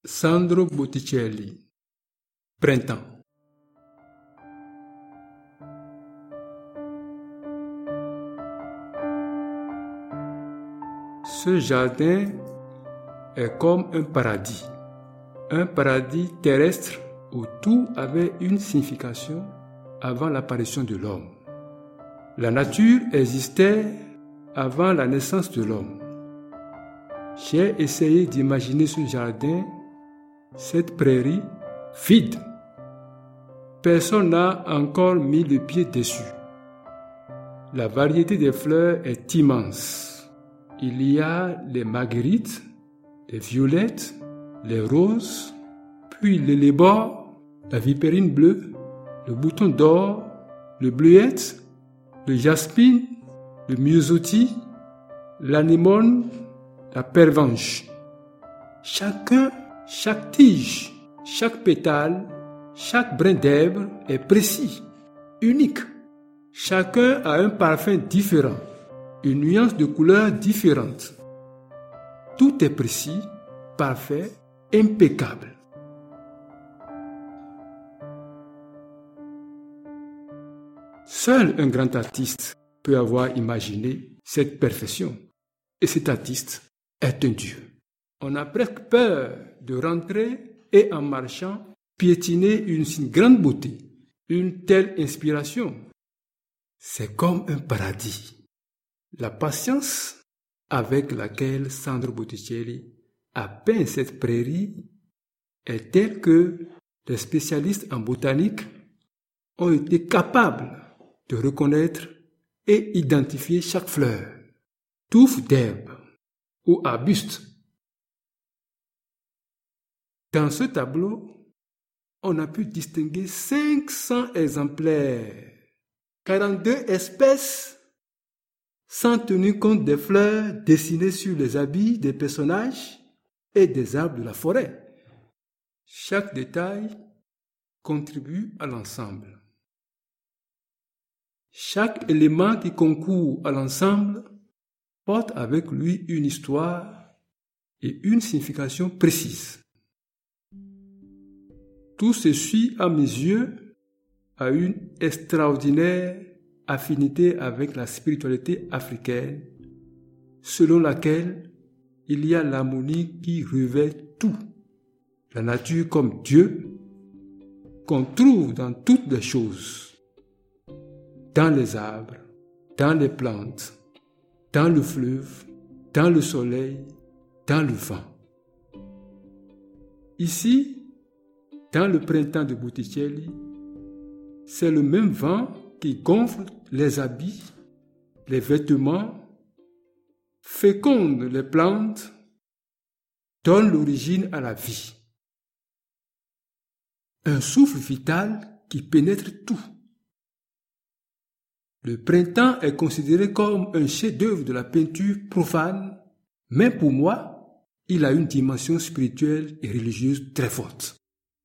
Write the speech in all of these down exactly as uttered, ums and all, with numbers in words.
Sandro Botticelli, Printemps. Ce jardin est comme un paradis, un paradis terrestre où tout avait une signification avant l'apparition de l'homme. La nature existait avant la naissance de l'homme. J'ai essayé d'imaginer ce jardin, cette prairie vide. Personne n'a encore mis le pied dessus. La variété des fleurs est immense. Il y a les marguerites, les violettes, les roses, puis les lébores, la vipérine bleue, le bouton d'or, le bleuette, le jasmine, le myosotis, l'anémone, la pervenche. Chacun, chaque tige, chaque pétale, chaque brin d'herbe est précis, unique. Chacun a un parfum différent, une nuance de couleur différente. Tout est précis, parfait, impeccable. Seul un grand artiste peut avoir imaginé cette perfection. Et cet artiste est un Dieu. On a presque peur de rentrer et en marchant, piétiner une si grande beauté, une telle inspiration. C'est comme un paradis. La patience avec laquelle Sandro Botticelli a peint cette prairie est telle que les spécialistes en botanique ont été capables de reconnaître et identifier chaque fleur, touffe d'herbe ou arbuste. Dans ce tableau, on a pu distinguer cinq cents exemplaires, quarante-deux espèces, sans tenir compte des fleurs dessinées sur les habits des personnages et des arbres de la forêt. Chaque détail contribue à l'ensemble. Chaque élément qui concourt à l'ensemble porte avec lui une histoire et une signification précise. Tout ceci, à mes yeux, a une extraordinaire affinité avec la spiritualité africaine, selon laquelle il y a l'harmonie qui revêt tout, la nature comme Dieu, qu'on trouve dans toutes les choses, dans les arbres, dans les plantes, dans le fleuve, dans le soleil, dans le vent. Ici, dans le printemps de Botticelli, c'est le même vent qui gonfle les habits, les vêtements, féconde les plantes, donne l'origine à la vie. Un souffle vital qui pénètre tout. Le printemps est considéré comme un chef-d'œuvre de la peinture profane, mais pour moi, il a une dimension spirituelle et religieuse très forte.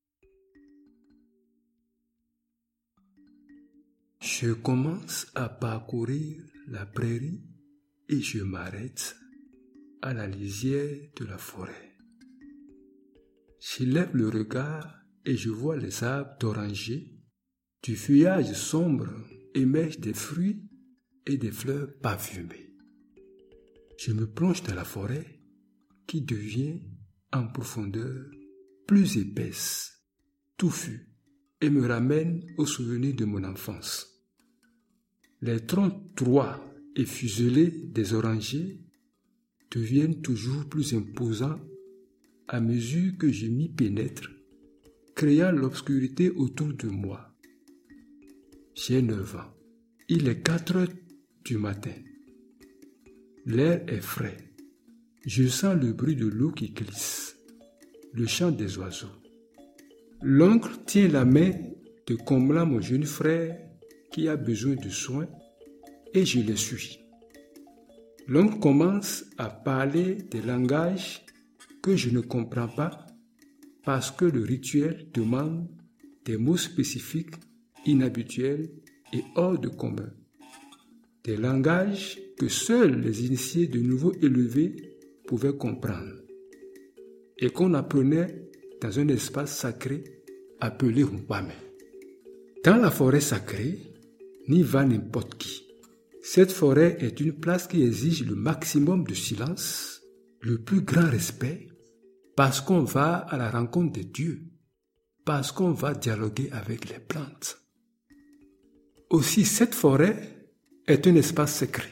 Je commence à parcourir la prairie et je m'arrête à la lisière de la forêt. Je lève le regard et je vois les arbres d'oranger. Du feuillage sombre émergent des fruits et des fleurs parfumées. Je me plonge dans la forêt qui devient en profondeur plus épaisse, touffue, et me ramène aux souvenirs de mon enfance. Les troncs droits et fuselés des orangers deviennent toujours plus imposants à mesure que je m'y pénètre, créant l'obscurité autour de moi. J'ai neuf ans. Il est quatre heures du matin. L'air est frais. Je sens le bruit de l'eau qui glisse, le chant des oiseaux. L'oncle tient la main de comblant mon jeune frère qui a besoin de soins et je le suis. L'oncle commence à parler des langages que je ne comprends pas parce que le rituel demande des mots spécifiques, inhabituels et hors de commun. Des langages que seuls les initiés de niveau élevé pouvaient comprendre et qu'on apprenait dans un espace sacré appelé Rumpame. Dans la forêt sacrée, n'y va n'importe qui. Cette forêt est une place qui exige le maximum de silence, le plus grand respect, parce qu'on va à la rencontre des dieux, parce qu'on va dialoguer avec les plantes. Aussi, cette forêt est un espace secret,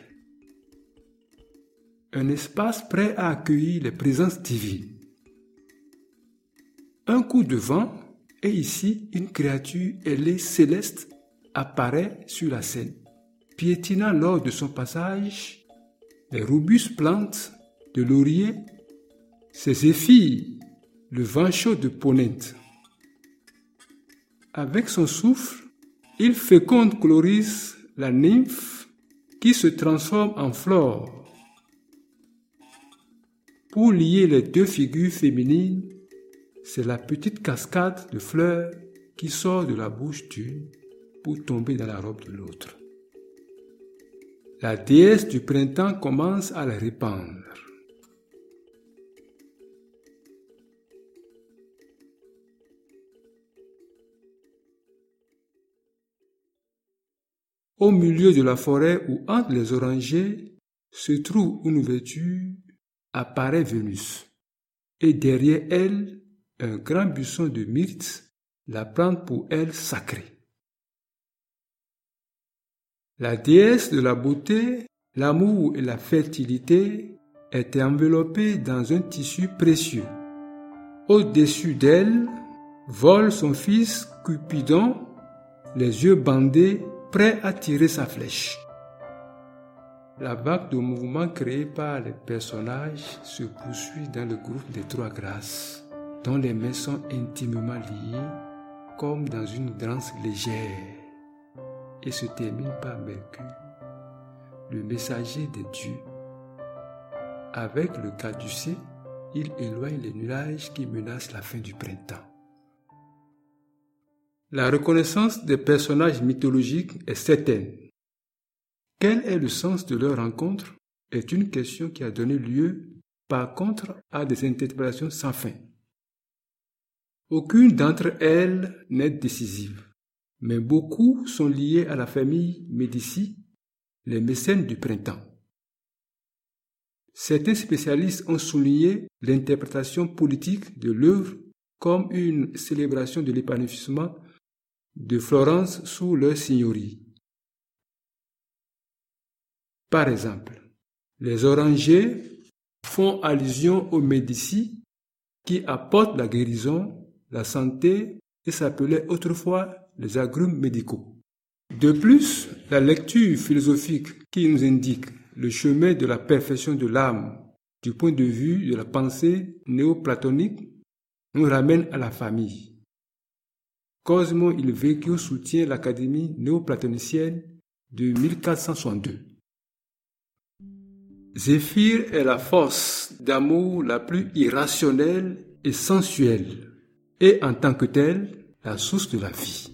un espace prêt à accueillir les présences divines. Un coup de vent, et ici, une créature ailée céleste apparaît sur la scène, piétinant lors de son passage les robustes plantes de laurier, ses zéphyrs, le vent chaud de Ponente. Avec son souffle, il féconde Chloris, la nymphe, qui se transforme en flore. Pour lier les deux figures féminines, c'est la petite cascade de fleurs qui sort de la bouche d'une pour tomber dans la robe de l'autre. La déesse du printemps commence à les répandre. Au milieu de la forêt ou entre les orangers se trouve une ouverture, apparaît Vénus, et derrière elle, un grand buisson de myrte, la plante pour elle sacrée. La déesse de la beauté, l'amour et la fertilité est enveloppée dans un tissu précieux. Au-dessus d'elle, vole son fils Cupidon, les yeux bandés, prêt à tirer sa flèche. La vague de mouvements créée par les personnages se poursuit dans le groupe des Trois Grâces, dont les mains sont intimement liées, comme dans une danse légère, et se termine par Mercure, le messager des dieux. Avec le caducée, il éloigne les nuages qui menacent la fin du printemps. La reconnaissance des personnages mythologiques est certaine. Quel est le sens de leur rencontre est une question qui a donné lieu, par contre, à des interprétations sans fin. Aucune d'entre elles n'est décisive, mais beaucoup sont liées à la famille Médicis, les mécènes du printemps. Certains spécialistes ont souligné l'interprétation politique de l'œuvre comme une célébration de l'épanouissement de Florence sous leur signorie. Par exemple, les orangers font allusion aux Médicis qui apportent la guérison, la santé et s'appelaient autrefois les agrumes médicaux. De plus, la lecture philosophique qui nous indique le chemin de la perfection de l'âme du point de vue de la pensée néoplatonique nous ramène à la famille. Cosmo il Vecchio soutient l'Académie néoplatonicienne de mille quatre cent soixante-deux. Zéphyr est la force d'amour la plus irrationnelle et sensuelle, et en tant que telle, la source de la vie.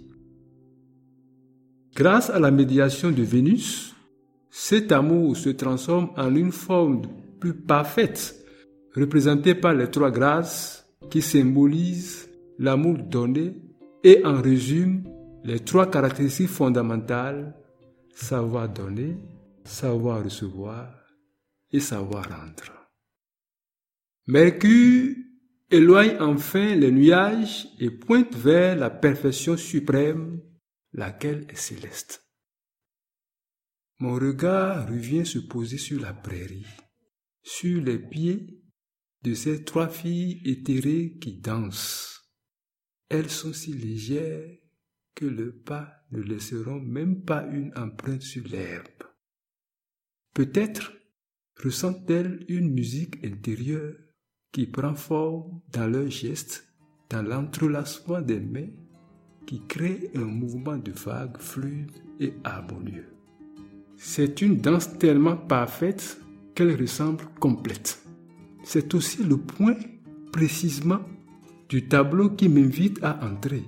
Grâce à la médiation de Vénus, cet amour se transforme en une forme plus parfaite, représentée par les trois grâces qui symbolisent l'amour donné et en résume les trois caractéristiques fondamentales: savoir donner, savoir recevoir et savoir rendre. Mercure éloigne enfin les nuages et pointe vers la perfection suprême, laquelle est céleste. Mon regard revient se poser sur la prairie, sur les pieds de ces trois filles éthérées qui dansent. Elles sont si légères que leurs pas ne laisseront même pas une empreinte sur l'herbe. Peut-être ressentent-elles une musique intérieure qui prend forme dans leurs gestes, dans l'entrelacement des mains, qui crée un mouvement de vagues fluide et harmonieux. C'est une danse tellement parfaite qu'elle ressemble complète. C'est aussi le point, précisément, du tableau qui m'invite à entrer.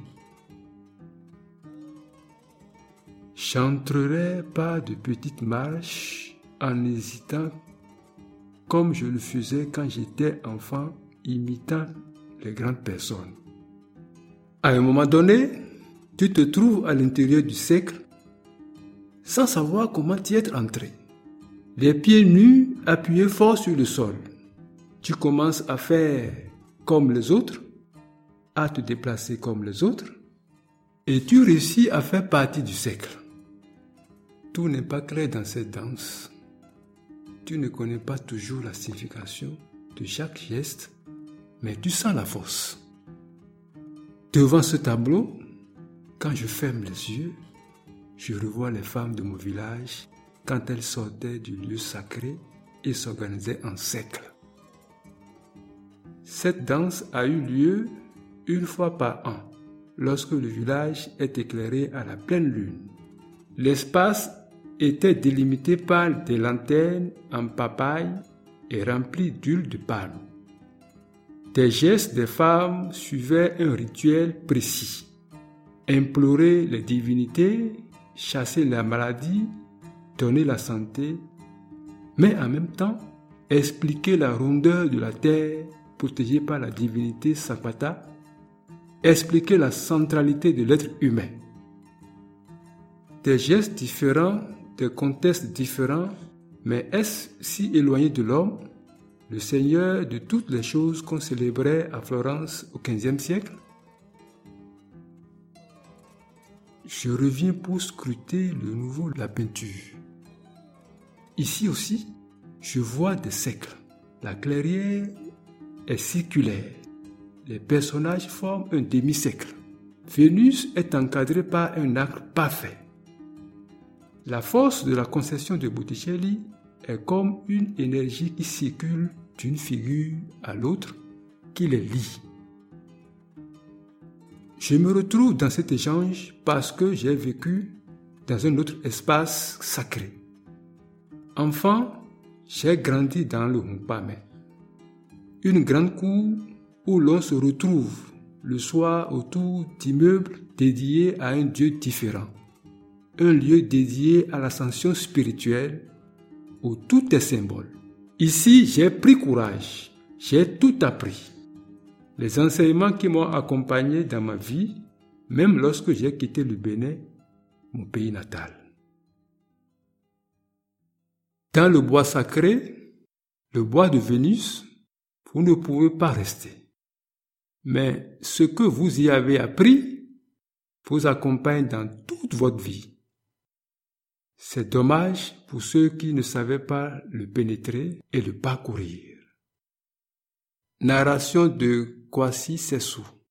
J'entrerai pas de petites marches en hésitant comme je le faisais quand j'étais enfant, imitant les grandes personnes. À un moment donné, tu te trouves à l'intérieur du cercle sans savoir comment y être entré. Les pieds nus appuyés fort sur le sol. Tu commences à faire comme les autres, à te déplacer comme les autres, et tu réussis à faire partie du cercle. Tout n'est pas clair dans cette danse. Tu ne connais pas toujours la signification de chaque geste, mais tu sens la force. Devant ce tableau, quand je ferme les yeux, je revois les femmes de mon village quand elles sortaient du lieu sacré et s'organisaient en cercle. Cette danse a eu lieu une fois par an, lorsque le village est éclairé à la pleine lune. L'espace était délimité par des lanternes en papaye et rempli d'huile de palme. Des gestes des femmes suivaient un rituel précis. Implorer les divinités, chasser la maladie, donner la santé, mais en même temps expliquer la rondeur de la terre protégée par la divinité Sapata, expliquer la centralité de l'être humain. Des gestes différents, des contextes différents, mais est-ce si éloigné de l'homme, le Seigneur de toutes les choses qu'on célébrait à Florence au quinzième siècle? Je reviens pour scruter le nouveau de la peinture. Ici aussi, je vois des cercles. La clairière est circulaire. Les personnages forment un demi-cercle. Vénus est encadrée par un arc parfait. La force de la conception de Botticelli est comme une énergie qui circule d'une figure à l'autre, qui les lie. Je me retrouve dans cet échange parce que j'ai vécu dans un autre espace sacré. Enfant, j'ai grandi dans le Mpame, une grande cour où l'on se retrouve le soir autour d'immeubles dédiés à un Dieu différent, un lieu dédié à l'ascension spirituelle où tout est symbole. Ici, j'ai pris courage, j'ai tout appris. Les enseignements qui m'ont accompagné dans ma vie, même lorsque j'ai quitté le Bénin, mon pays natal. Dans le bois sacré, le bois de Vénus, vous ne pouvez pas rester. Mais ce que vous y avez appris vous accompagne dans toute votre vie. C'est dommage pour ceux qui ne savaient pas le pénétrer et le parcourir. Narration de Kwasi Sessou.